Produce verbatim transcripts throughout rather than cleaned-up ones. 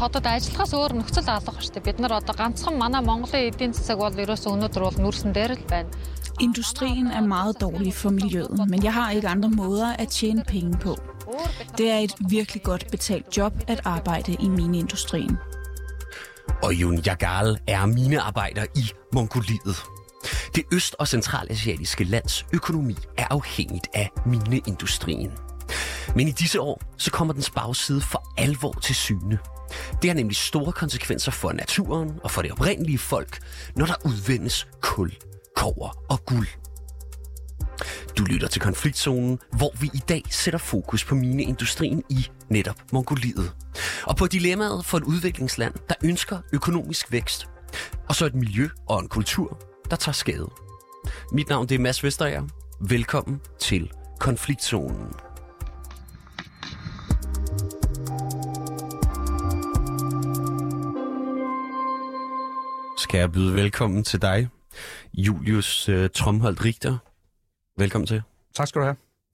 хотод ажиллахаас өөр нөхцөл алга штэ. Бид нар одоо ганцхан манай Mongolen эдийн засаг бол ерөөсөө өнөөдөр бол нүрсэн дээр л байна. Industrien er meget dårlig for miljøet, men jeg har ikke andre måder at tjene penge på. Det er et virkelig godt betalt job at arbejde i mineindustrien. Oyun Yagal er minearbejder i Mongoliet. Det øst- og centralasiatiske lands økonomi er afhængigt af mineindustrien. Men i disse år, så kommer dens bagside for alvor til syne. Det har nemlig store konsekvenser for naturen og for det oprindelige folk, når der udvindes kul, kobber og guld. Du lytter til Konfliktzonen, hvor vi i dag sætter fokus på mineindustrien i netop Mongoliet. Og på dilemmaet for et udviklingsland, der ønsker økonomisk vækst. Og så et miljø og en kultur, der tager skade. Mit navn det er Mads Vesterager. Velkommen til Konfliktzonen. Skal jeg byde velkommen til dig, Julius uh, Tromholdt Richter. Velkommen til. Tak skal du have.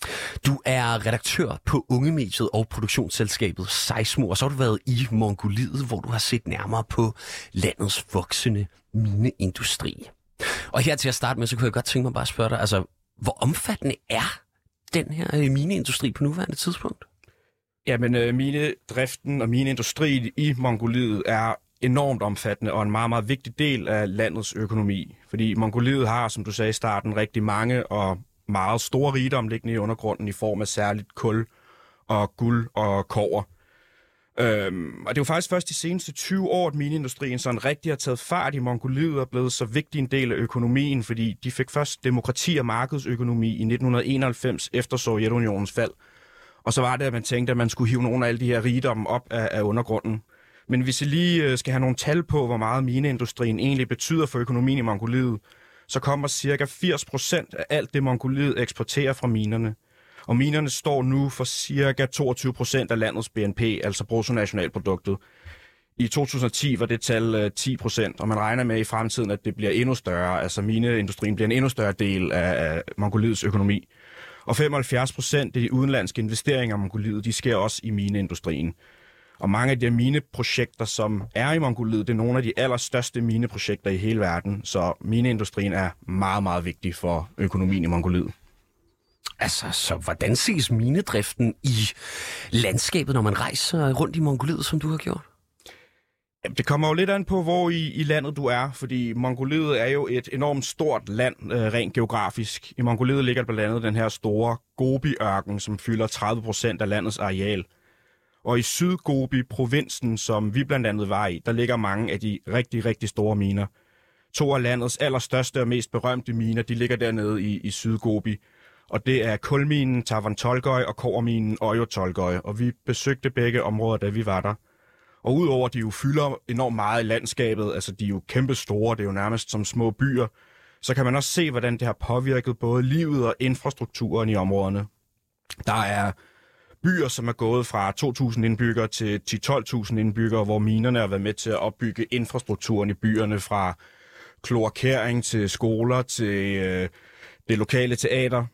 Du er redaktør på Ungemediet og produktionsselskabet Seismo, og så har du været i Mongoliet, hvor du har set nærmere på landets voksende mineindustri. Og her til at starte med, så kunne jeg godt tænke mig bare at spørge dig, altså, hvor omfattende er den her mineindustri på nuværende tidspunkt? Jamen, øh, minedriften og mineindustrien i Mongoliet er enormt omfattende og en meget, meget vigtig del af landets økonomi. Fordi Mongoliet har, som du sagde i starten, rigtig mange og meget store rigdom liggende i undergrunden i form af særligt kul og guld og kobber. Øhm, og det er jo faktisk først de seneste tyve år, at mineindustrien sådan rigtig har taget fart i Mongoliet og er blevet så vigtig en del af økonomien, fordi de fik først demokrati og markedsøkonomi i nitten enoghalvfems efter Sovjetunionens fald. Og så var det, at man tænkte, at man skulle hive nogle af alle de her rigdomme op af, af undergrunden. Men hvis I lige skal have nogle tal på, hvor meget mineindustrien egentlig betyder for økonomien i Mongoliet, så kommer cirka firs procent af alt det, Mongoliet eksporterer fra minerne. Og minerne står nu for cirka toogtyve procent af landets B N P, altså bruttonationalproduktet. I to tusind og ti var det tal ti procent, og man regner med i fremtiden, at det bliver endnu større. Altså mineindustrien bliver en endnu større del af Mongoliets økonomi. Og femoghalvfjerds procent af de udenlandske investeringer i Mongoliet, de sker også i mineindustrien. Og mange af de mineprojekter, som er i Mongoliet, det er nogle af de allerstørste mineprojekter i hele verden. Så mineindustrien er meget, meget vigtig for økonomien i Mongoliet. Altså, så hvordan ses minedriften i landskabet, når man rejser rundt i Mongoliet, som du har gjort? Jamen, det kommer jo lidt an på, hvor i, i landet du er, fordi Mongoliet er jo et enormt stort land, øh, rent geografisk. I Mongoliet ligger blandt andet den her store Gobi-ørken, som fylder tredive procent af landets areal. Og i Sydgobi-provinsen, som vi blandt andet var i, der ligger mange af de rigtig, rigtig store miner. To af landets allerstørste og mest berømte miner, de ligger dernede i, i Sydgobi. Og det er kulminen Tavan-Tolgoi og kobberminen Oyo-Tolgoi. Og vi besøgte begge områder, da vi var der. Og udover at de jo fylder enormt meget i landskabet, altså de er jo kæmpe store, det er jo nærmest som små byer, så kan man også se, hvordan det har påvirket både livet og infrastrukturen i områderne. Der er byer, som er gået fra to tusind indbyggere til ti til tolv tusind indbyggere, hvor minerne har været med til at opbygge infrastrukturen i byerne, fra kloakering til skoler til øh, det lokale teater.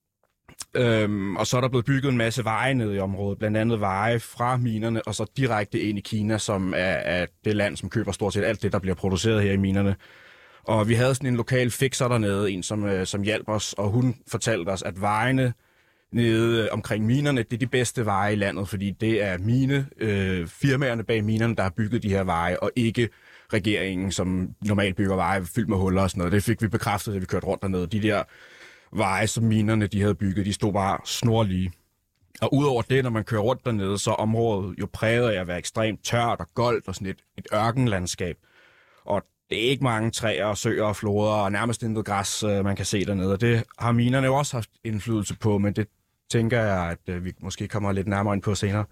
Øhm, og så er der blevet bygget en masse veje nede i området, blandt andet veje fra minerne og så direkte ind i Kina, som er, er det land, som køber stort set alt det, der bliver produceret her i minerne. Og vi havde sådan en lokal fikser dernede, en som, øh, som hjalp os, og hun fortalte os, at vejene nede omkring minerne, det er de bedste veje i landet, fordi det er mine, øh, firmaerne bag minerne, der har bygget de her veje, og ikke regeringen, som normalt bygger veje fyldt med huller og sådan noget. Det fik vi bekræftet, da vi kørte rundt dernede. De der veje, som minerne de havde bygget, de stod bare snorlige. Og udover det, når man kører rundt dernede, så er området jo præget af at være ekstremt tørt og goldt og sådan et, et ørkenlandskab. Og det er ikke mange træer, søer og floder og nærmest intet græs, man kan se dernede. Og det har minerne jo også haft indflydelse på, men det tænker jeg, at vi måske kommer lidt nærmere ind på senere.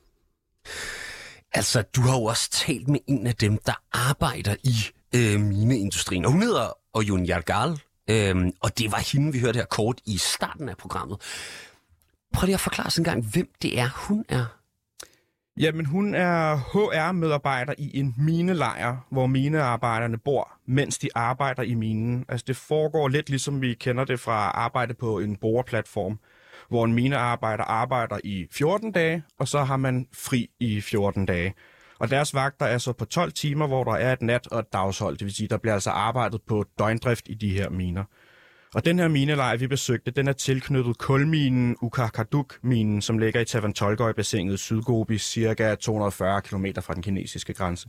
Altså, du har jo også talt med en af dem, der arbejder i øh, mineindustrien. Og hun hedder Oyun Yagal, øh, og det var hende, vi hørte her kort i starten af programmet. Prøv lige at forklare os en gang, hvem det er, hun er. Jamen, hun er H R-medarbejder i en minelejr, hvor minearbejderne bor, mens de arbejder i minen. Altså, det foregår lidt ligesom vi kender det fra arbejde på en boreplatform, hvor en minearbejder arbejder i fjorten dage, og så har man fri i fjorten dage. Og deres vagter er så på tolv timer, hvor der er et nat- og et dagshold. Det vil sige, der bliver altså arbejdet på døgndrift i de her miner. Og den her minelejr, vi besøgte, den er tilknyttet kulminen Uqaqaduq-minen, som ligger i Tavantoilgøj-bassinet Sydgobi, cirka to hundrede og fyrre kilometer fra den kinesiske grænse.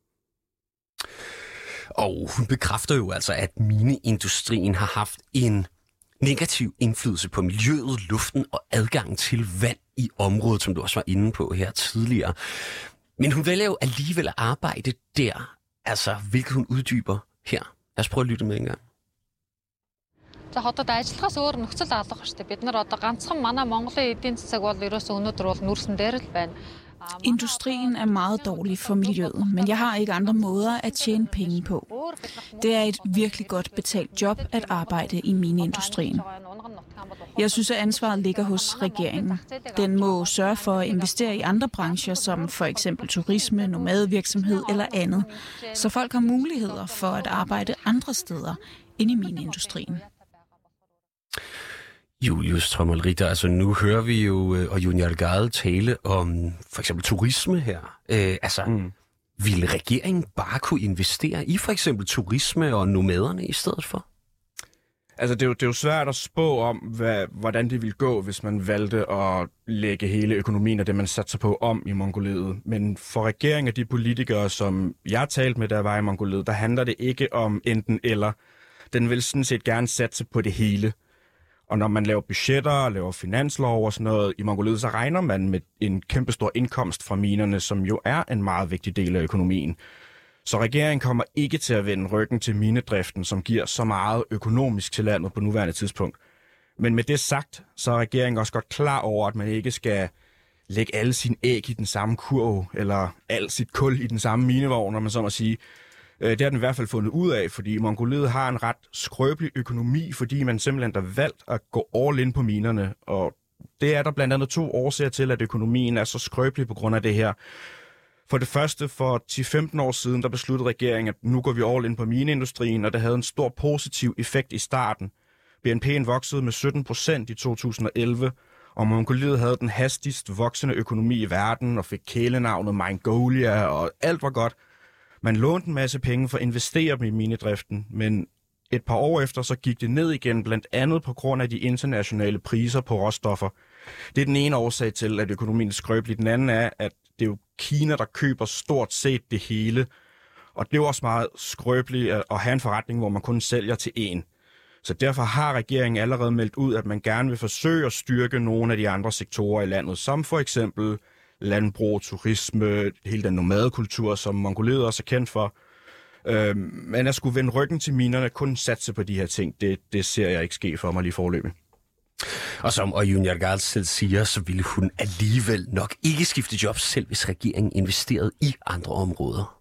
Og hun bekræfter jo altså, at mineindustrien har haft en negativ indflydelse på miljøet, luften og adgangen til vand i området, som du også var inde på her tidligere. Men hun vælger jo alligevel at arbejde der, altså hvilket hun uddyber her. Lad os prøve at lytte med en gang. За хотод ажиллахаас өөр нөхцөл алга шүү дээ. Бид нар одоо ганцхан манай Монголын эдийн засаг бол ерөөсөө өнөөдөр бол нүрсэн дээр л байна. Industrien er meget dårlig for miljøet, men jeg har ikke andre måder at tjene penge på. Det er et virkelig godt betalt job at arbejde i mineindustrien. Jeg synes, at ansvaret ligger hos regeringen. Den må sørge for at investere i andre brancher, som for eksempel turisme, nomadevirksomhed eller andet, så folk har muligheder for at arbejde andre steder end i mineindustrien. Julius Trommel Ritter, altså nu hører vi jo øh, og Junior Gade tale om for eksempel turisme her. Øh, altså, mm. ville regeringen bare kunne investere i for eksempel turisme og nomaderne i stedet for? Altså, det er jo, det er jo svært at spå om, hvad, hvordan det ville gå, hvis man valgte at lægge hele økonomien og det, man satte sig på om i Mongoliet. Men for regeringen og de politikere, som jeg talte med, der var i Mongoliet, der handler det ikke om enten eller. Den vil sådan set gerne satse på det hele. Og når man laver budgetter og laver finanslov og sådan noget i Mongoliet, så regner man med en kæmpestor indkomst fra minerne, som jo er en meget vigtig del af økonomien. Så regeringen kommer ikke til at vende ryggen til minedriften, som giver så meget økonomisk til landet på nuværende tidspunkt. Men med det sagt, så er regeringen også godt klar over, at man ikke skal lægge alle sine æg i den samme kurv, eller alt sit kul i den samme minevogn, når man så må sige. Det har den i hvert fald fundet ud af, fordi Mongoliet har en ret skrøbelig økonomi, fordi man simpelthen har valgt at gå all in på minerne. Og det er der blandt andet to årsager til, at økonomien er så skrøbelig på grund af det her. For det første, for ti til femten år siden, der besluttede regeringen, at nu går vi all in på mineindustrien, og det havde en stor positiv effekt i starten. B N P'en voksede med sytten procent i to tusind og elleve, og Mongoliet havde den hastigst voksende økonomi i verden, og fik kælenavnet Mongolia, og alt var godt. Man lånte en masse penge for at investere dem i minedriften, men et par år efter så gik det ned igen, blandt andet på grund af de internationale priser på råstoffer. Det er den ene årsag til, at økonomien er skrøbelig. Den anden er, at det er jo Kina, der køber stort set det hele. Og det er jo også meget skrøbeligt at have en forretning, hvor man kun sælger til én. Så derfor har regeringen allerede meldt ud, at man gerne vil forsøge at styrke nogle af de andre sektorer i landet, som for eksempel landbrug, turisme, hele den nomadekultur, som Mongoliet også er kendt for. Øh, men at skulle vende ryggen til minerne, kun satse på de her ting, det, det ser jeg ikke ske for mig lige foreløbig. Og som og Junior Gade selv siger, så ville hun alligevel nok ikke skifte job, selv hvis regeringen investerede i andre områder.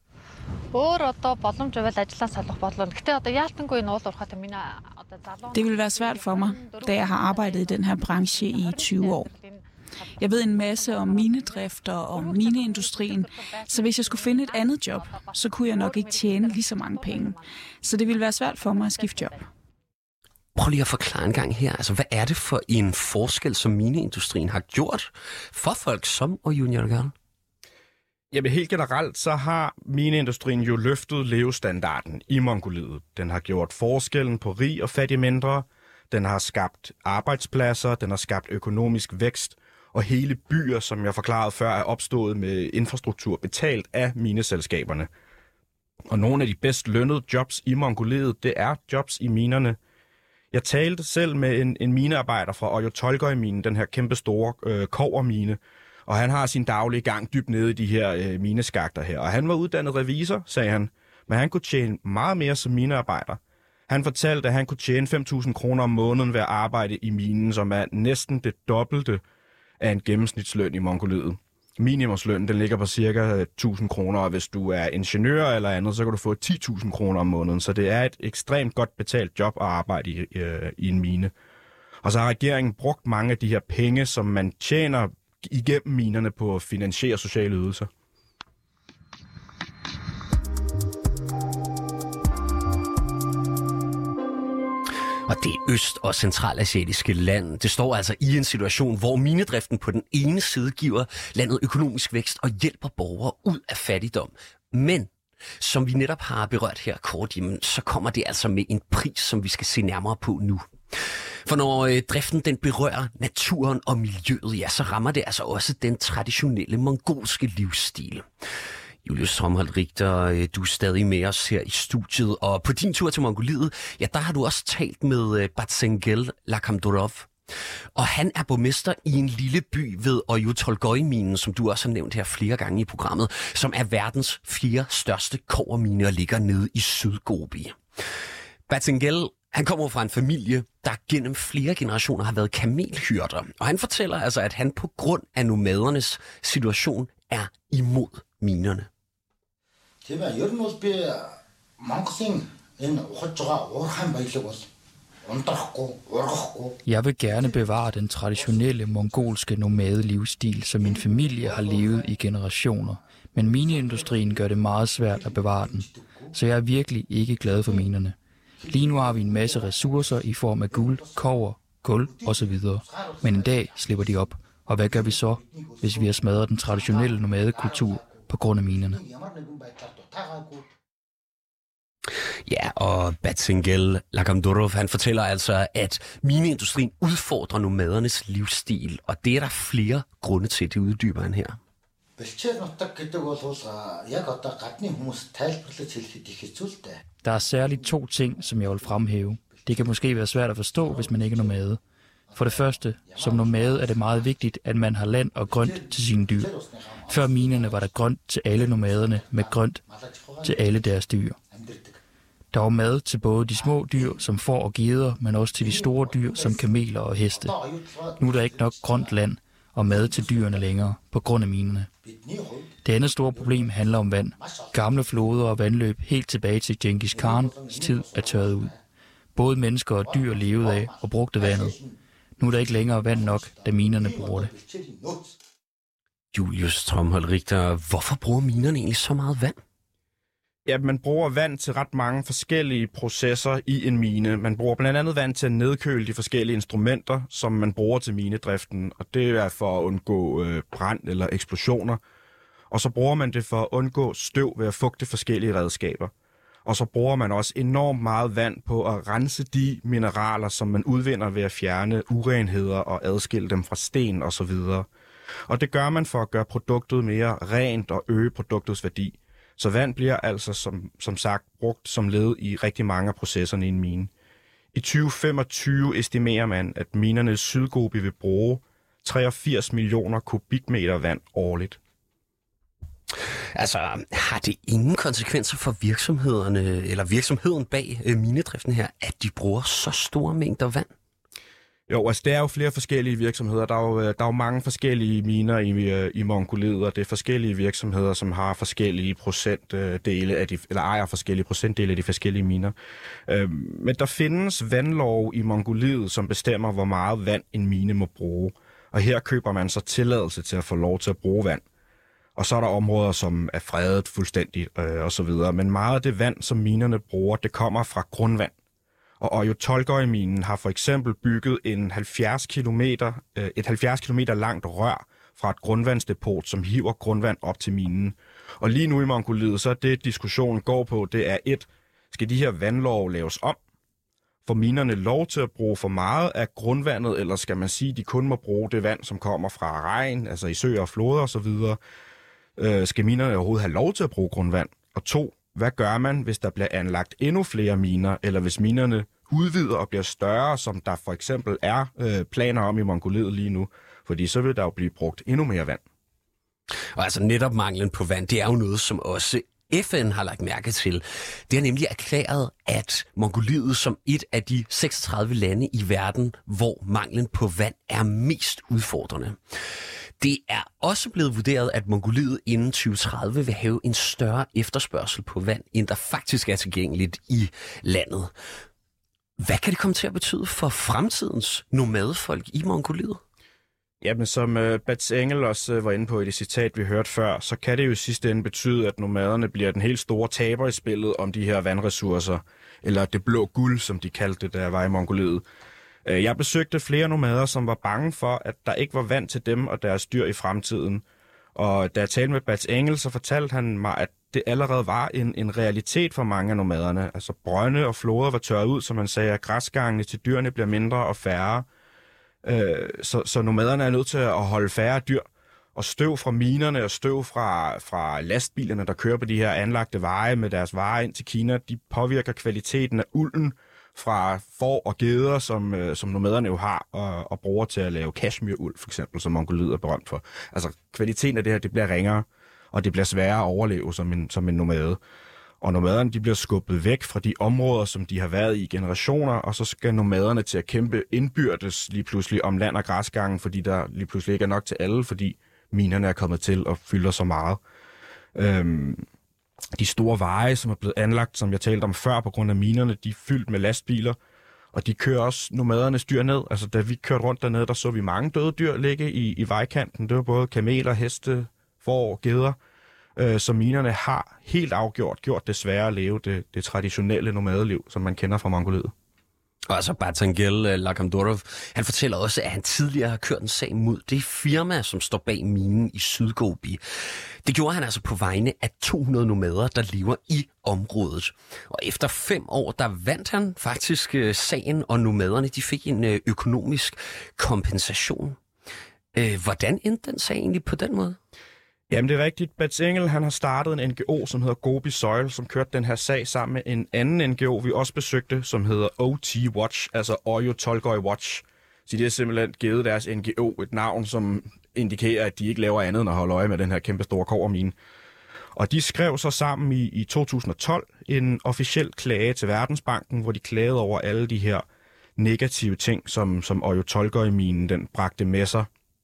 Det vil være svært for mig, da jeg har arbejdet i den her branche i tyve år. Jeg ved en masse om minedrift og om mineindustrien, så hvis jeg skulle finde et andet job, så kunne jeg nok ikke tjene lige så mange penge. Så det ville være svært for mig at skifte job. Prøv lige at forklare en gang her. Altså, hvad er det for en forskel, som mineindustrien har gjort for folk som og Junior Gade? Jamen helt generelt, så har mineindustrien jo løftet levestandarden i Mongoliet. Den har gjort forskellen på rig og fattig mindre. Den har skabt arbejdspladser, den har skabt økonomisk vækst, og hele byer, som jeg forklarede før, er opstået med infrastruktur betalt af mineselskaberne. Og nogle af de bedst lønnede jobs i Mongoliet, det er jobs i minerne. Jeg talte selv med en, en minearbejder fra Oyu-Tolgoi-minen, den her kæmpe store øh, kobbermine, og han har sin daglige gang dybt nede i de her øh, mineskakter her. Og han var uddannet revisor, sagde han, men han kunne tjene meget mere som minearbejder. Han fortalte, at han kunne tjene fem tusind kroner om måneden ved at arbejde i minen, som er næsten det dobbelte af en gennemsnitsløn i Mongoliet. Minimumslønnen den ligger på cirka tusind kroner, og hvis du er ingeniør eller andet, så kan du få ti tusind kroner om måneden. Så det er et ekstremt godt betalt job at arbejde i, øh, i en mine. Og så har regeringen brugt mange af de her penge, som man tjener igennem minerne på at finansiere sociale ydelser. Og det øst- og centralasiatiske land, det står altså i en situation, hvor minedriften på den ene side giver landet økonomisk vækst og hjælper borgere ud af fattigdom. Men som vi netop har berørt her kort, jamen, så kommer det altså med en pris, som vi skal se nærmere på nu. For når øh, driften den berører naturen og miljøet, ja, så rammer det altså også den traditionelle mongolske livsstil. Julius Stromholt Richter, du er stadig med os her i studiet, og på din tur til Mongoliet, ja, der har du også talt med Batsengel Lakhamdorov. Og han er borgmester i en lille by ved Oyu-Tolgoi-minen, som du også har nævnt her flere gange i programmet, som er verdens fjerde største kobbermine og ligger nede i Sydgobi. Batsengel, han kommer fra en familie, der gennem flere generationer har været kamelhyrder, og han fortæller altså, at han på grund af nomadernes situation er imod minerne. Jeg vil gerne bevare den traditionelle mongolske nomadelivsstil, som min familie har levet i generationer. Men mineindustrien gør det meget svært at bevare den, så jeg er virkelig ikke glad for minerne. Lige nu har vi en masse ressourcer i form af guld, kobber, guld osv. Men en dag slipper de op. Og hvad gør vi så, hvis vi har smadret den traditionelle nomadekultur på grund af minerne? Ja, og Batsengel Lakhamdorov, han fortæller altså, at mineindustrien udfordrer nomadernes livsstil, og det er der flere grunde til, det uddyber han her. Der er særligt to ting, som jeg vil fremhæve. Det kan måske være svært at forstå, hvis man ikke er nomade. For det første, som nomade er det meget vigtigt, at man har land og grønt til sine dyr. Før minerne var der grønt til alle nomaderne, med grønt til alle deres dyr. Der var mad til både de små dyr, som får og geder, men også til de store dyr, som kameler og heste. Nu er der ikke nok grønt land og mad til dyrene længere, på grund af minerne. Det andet store problem handler om vand. Gamle floder og vandløb helt tilbage til Genghis Khans tid er tørret ud. Både mennesker og dyr levede af og brugte vandet. Nu er der ikke længere vand nok, da minerne bruger det. Julius Stromholt Richter, hvorfor bruger minerne egentlig så meget vand? Ja, man bruger vand til ret mange forskellige processer i en mine. Man bruger blandt andet vand til at nedkøle de forskellige instrumenter, som man bruger til minedriften, og det er for at undgå øh, brand eller eksplosioner. Og så bruger man det for at undgå støv ved at fugte forskellige redskaber. Og så bruger man også enormt meget vand på at rense de mineraler, som man udvinder ved at fjerne urenheder og adskille dem fra sten osv. Og det gør man for at gøre produktet mere rent og øge produktets værdi. Så vand bliver altså som, som sagt brugt som led i rigtig mange af processerne i en mine. I tyve femogtyve estimerer man, at minerne i Sydgobi vil bruge treogfirs millioner kubikmeter vand årligt. Altså, har det ingen konsekvenser for virksomhederne, eller virksomheden bag øh, minedriften her, at de bruger så store mængder vand? Jo, altså der er jo flere forskellige virksomheder. Der er jo, der er jo mange forskellige miner i, i Mongoliet, og det er forskellige virksomheder, som har forskellige procentdele af de, eller ejer forskellige procentdele af de forskellige miner. Men der findes vandlov i Mongoliet, som bestemmer, hvor meget vand en mine må bruge. Og her køber man så tilladelse til at få lov til at bruge vand. Og så er der områder, som er fredet fuldstændigt øh, og så videre. Men meget af det vand, som minerne bruger, det kommer fra grundvand. Og Oyu-Tolgoi-minen har for eksempel bygget en halvfjerds kilometer, øh, et halvfjerds kilometer langt rør fra et grundvandsdepot, som hiver grundvand op til minen. Og lige nu i Mongoliet, så er det, diskussionen går på, det er et, skal de her vandlov laves om? Får minerne lov til at bruge for meget af grundvandet, eller skal man sige, at de kun må bruge det vand, som kommer fra regn, altså i søer og floder osv.? Øh, skal minerne overhovedet have lov til at bruge grundvand? Og to, hvad gør man, hvis der bliver anlagt endnu flere miner, eller hvis minerne udvider og bliver større, som der for eksempel er øh, planer om i Mongoliet lige nu? Fordi så vil der jo blive brugt endnu mere vand. Og altså netop manglen på vand, det er jo noget, som også F N har lagt mærke til. Det har nemlig erklæret, at Mongoliet som et af de seksogtredive lande i verden, hvor manglen på vand er mest udfordrende. Det er også blevet vurderet, at Mongoliet inden tyve tredive vil have en større efterspørgsel på vand, end der faktisk er tilgængeligt i landet. Hvad kan det komme til at betyde for fremtidens nomadefolk i Mongoliet? Jamen, som uh, Batsengel også uh, var inde på i det citat, vi hørte før, så kan det jo i sidste ende betyde, at nomaderne bliver den helt store taber i spillet om de her vandressourcer. eller det blå guld, som de kaldte det, da jeg var i Mongoliet. Jeg besøgte flere nomader, som var bange for, at der ikke var vand til dem og deres dyr i fremtiden. Og da jeg talte med Bats Engel, så fortalte han mig, at det allerede var en, en realitet for mange af nomaderne. Altså brønde og floder var tørret ud, som man sagde, at græsgangene til dyrene bliver mindre og færre. Øh, så, så nomaderne er nødt til at holde færre dyr. Og støv fra minerne og støv fra, fra lastbilerne, der kører på de her anlagte veje med deres varer ind til Kina, de påvirker kvaliteten af ulden fra får og geder, som, øh, som nomaderne jo har og, og bruger til at lave kashmiruld, for eksempel, som Mongoliet er berømt for. Altså kvaliteten af det her, det bliver ringere, og det bliver sværere at overleve som en, som en nomade. Og nomaderne, de bliver skubbet væk fra de områder, som de har været i generationer, og så skal nomaderne til at kæmpe indbyrdes lige pludselig om land og græsgangen, fordi der lige pludselig ikke er nok til alle, fordi minerne er kommet til og fylder så meget. Øhm, de store veje, som er blevet anlagt, som jeg talte om før, på grund af minerne, de er fyldt med lastbiler, og de kører også nomadernes dyr ned. Altså, da vi kørte rundt dernede, der så vi mange døde dyr ligge i, i vejkanten. Det var både kameler, heste, får, geder, øh, så minerne har helt afgjort gjort det sværere at leve det, det traditionelle nomadeliv, som man kender fra Mongoliet. Og altså Batangel Lakamdorov, han fortæller også, at han tidligere har kørt en sag mod det firma, som står bag minen i Sydgobi. Det gjorde han altså på vegne af to hundrede nomader, der lever i området. Og efter fem år, der vandt han faktisk sagen, og nomaderne de fik en økonomisk kompensation. Hvordan endte den sag egentlig på den måde? Jamen, det er rigtigt. Bats Engel, han har startet en N G O, som hedder Gobi Soil, som kørte den her sag sammen med en anden N G O, vi også besøgte, som hedder O T Watch, altså Oyo Tolgoi Watch. Så de har simpelthen givet deres N G O et navn, som indikerer, at de ikke laver andet end at holde øje med den her kæmpe store kobbermine. Og de skrev så sammen i, i to tusind og tolv en officiel klage til Verdensbanken, hvor de klagede over alle de her negative ting, som, som Oyo Tolgoi-minen den bragte med sig.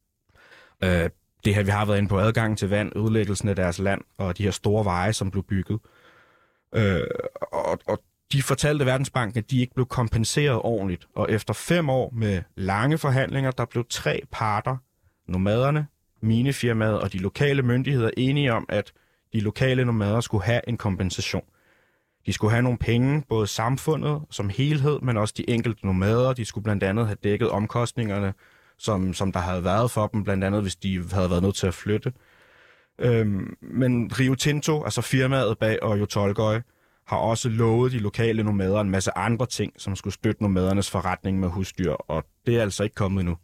Øh, Det her, vi har været inde på, adgangen til vand, ødelæggelsen af deres land og de her store veje, som blev bygget. Øh, og, og de fortalte Verdensbanken, at de ikke blev kompenseret ordentligt. Og efter fem år med lange forhandlinger, der blev tre parter, nomaderne, minefirmaet og de lokale myndigheder, enige om, at de lokale nomader skulle have en kompensation. De skulle have nogle penge, både samfundet som helhed, men også de enkelte nomader. De skulle blandt andet have dækket omkostningerne, Som, som der havde været for dem, blandt andet hvis de havde været nødt til at flytte. Øhm, men Rio Tinto, altså firmaet bag Oyo Tolgoi, har også lovet de lokale nomader en masse andre ting, som skulle støtte nomadernes forretning med husdyr, og det er altså ikke kommet endnu.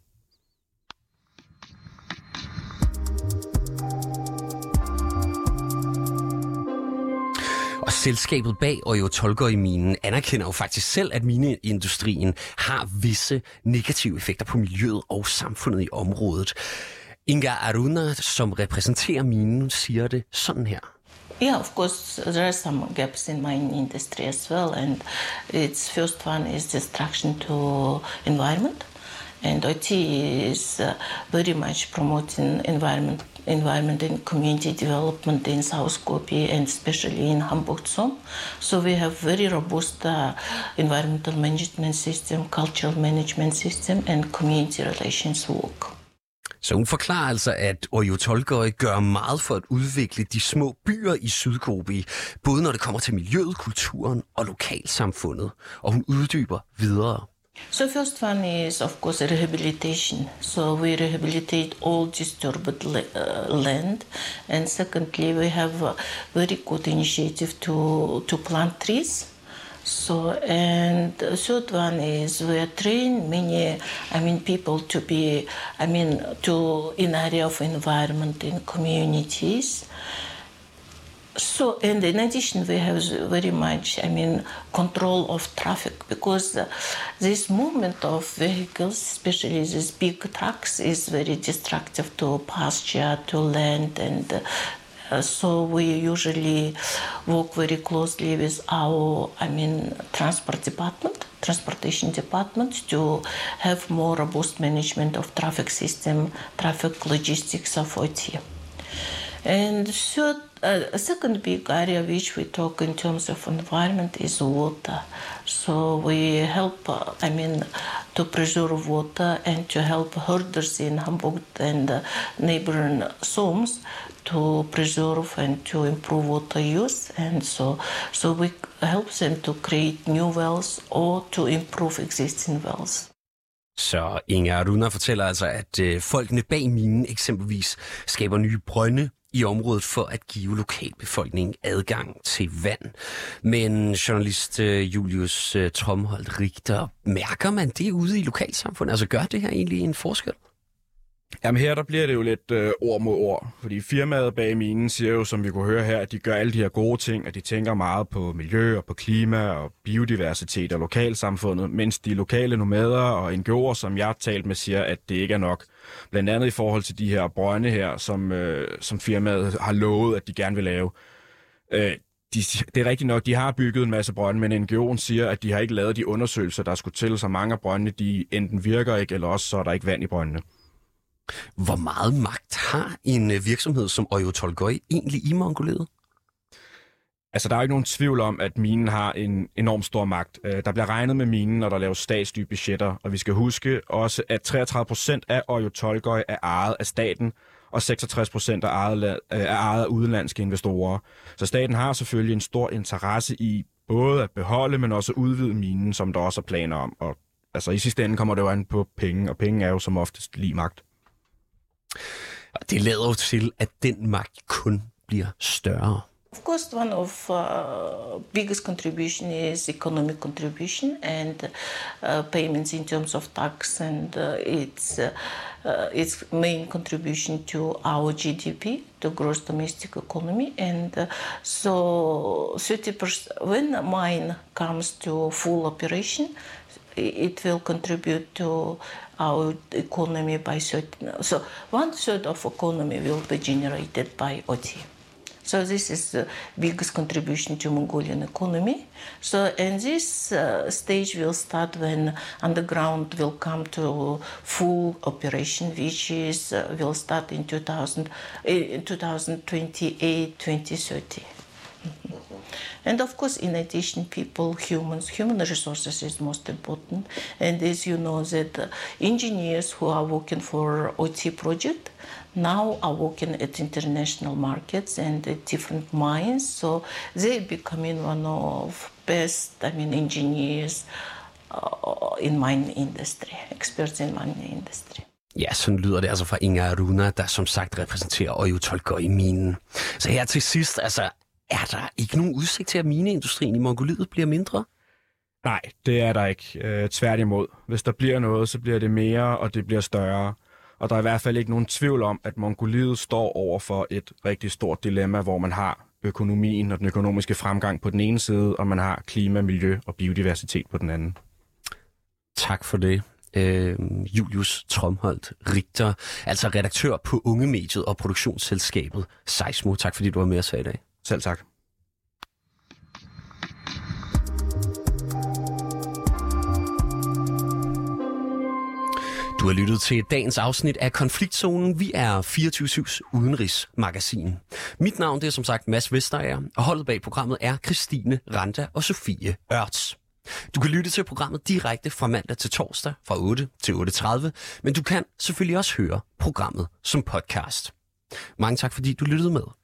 Og selskabet bag Oyo Tolgoi-minen anerkender jo faktisk selv, at mineindustrien har visse negative effekter på miljøet og samfundet i området. Inga Aruna, som repræsenterer minen, siger det sådan her. Yeah, of course, there are some gaps in mining industry as well, and its first one is destruction to environment, and O T is uh, very much promoting environment. environment and community development in South Gobi and especially in Hambuktsum. So we have very robust uh, environmental management system, cultural management system and community relations work. Så hun forklarer altså, at Oyo Tolgoi gør meget for at udvikle de små byer i Sydgobi, både når det kommer til miljøet, kulturen og lokalsamfundet. Og hun uddyber videre. So first one is, of course, rehabilitation. So we rehabilitate all disturbed uh, land. And secondly, we have a very good initiative to, to plant trees. So, and the third one is we are train many, I mean, people to be, I mean, to in area of environment in communities. So, and in addition, we have very much, I mean, control of traffic, because uh, this movement of vehicles, especially these big trucks, is very destructive to pasture, to land, and uh, so we usually work very closely with our, I mean, transport department, transportation department, to have more robust management of traffic system, traffic logistics of O T. And third, uh, a second big area which we talk in terms of environment is water. So we help, uh, I mean, to preserve water and to help herders in Hamburg and uh, neighboring zones to preserve and to improve water use. And so, so we help them to create new wells or to improve existing wells. Så Inger Runa fortæller altså, at øh, folkene bag minen eksempelvis skaber nye brønde i området for at give lokalbefolkningen adgang til vand. Men journalist øh, Julius øh, Tromholdt Richter, mærker man det ude i lokalsamfundet? Altså gør det her egentlig en forskel? Jamen her der bliver det jo lidt øh, ord mod ord, fordi firmaet bag minen siger jo, som vi kunne høre her, at de gør alle de her gode ting, at de tænker meget på miljø og på klima og biodiversitet og lokalsamfundet, mens de lokale nomader og N G O'er, som jeg har talt med, siger, at det ikke er nok. Blandt andet i forhold til de her brønde her, som, øh, som firmaet har lovet, at de gerne vil lave. Øh, de, det er rigtigt nok, de har bygget en masse brønde, men N G O'en siger, at de har ikke lavet de undersøgelser, der skulle til, så mange af brøndene, de enten virker ikke, eller også så er der ikke vand i brøndene. Hvor meget magt har en virksomhed som Oyu Tolgoi egentlig i Mongoliet? Altså, der er ikke nogen tvivl om, at minen har en enorm stor magt. Der bliver regnet med minen, når der laves statslige budgetter, og vi skal huske også, at treogtredive procent af Oyu Tolgoi er ejet af staten, og seksogtres procent er ejet, er ejet af udenlandske investorer. Så staten har selvfølgelig en stor interesse i både at beholde, men også at udvide minen, som der også er planer om. Og altså, i sidste ende kommer det jo an på penge, og penge er jo som oftest lige magt. Det lader jo til, at den magt kun bliver større. Of course, one of uh, biggest contribution is economic contribution and uh, payments in terms of tax, and uh, its uh, uh, its main contribution to our G D P, the gross domestic economy, and uh, so thirty percent when a mine comes to full operation, it will contribute to our economy by certain. So one third of economy will be generated by O T. So this is the biggest contribution to Mongolian economy. So and this uh, stage will start when underground will come to full operation, which is uh, will start in two thousand, in twenty twenty-eight, twenty thirty. Mm-hmm. And of course, in addition, people, humans, human resources is most important. And as you know, that uh, engineers who are working for O T project now are working at international markets and at different mines. So they're becoming one of best, I mean, engineers uh, in mining industry, experts in mining industry. Ja, sådan lyder det altså fra Inger Runa, der som sagt repræsenterer Oyu Tolgoi-minen. Så her til sidst, altså, er der ikke nogen udsigt til, at mineindustrien i Mongoliet bliver mindre? Nej, det er der ikke. Øh, tværtimod. Hvis der bliver noget, så bliver det mere, og det bliver større. Og der er i hvert fald ikke nogen tvivl om, at Mongoliet står over for et rigtig stort dilemma, hvor man har økonomien og den økonomiske fremgang på den ene side, og man har klima, miljø og biodiversitet på den anden. Tak for det. Øh, Julius Tromholdt Richter, altså redaktør på Ungemediet og produktionsselskabet Seismo. Tak fordi du var med os her i dag. Selv tak. Du har lyttet til dagens afsnit af Konfliktzonen. Vi er fireogtyve syvs udenrigsmagasin. Mit navn det er som sagt Mads Vesterager, og holdet bag programmet er Christine Randa og Sofie Ørts. Du kan lytte til programmet direkte fra mandag til torsdag fra otte til otte tredive, men du kan selvfølgelig også høre programmet som podcast. Mange tak fordi du lyttede med.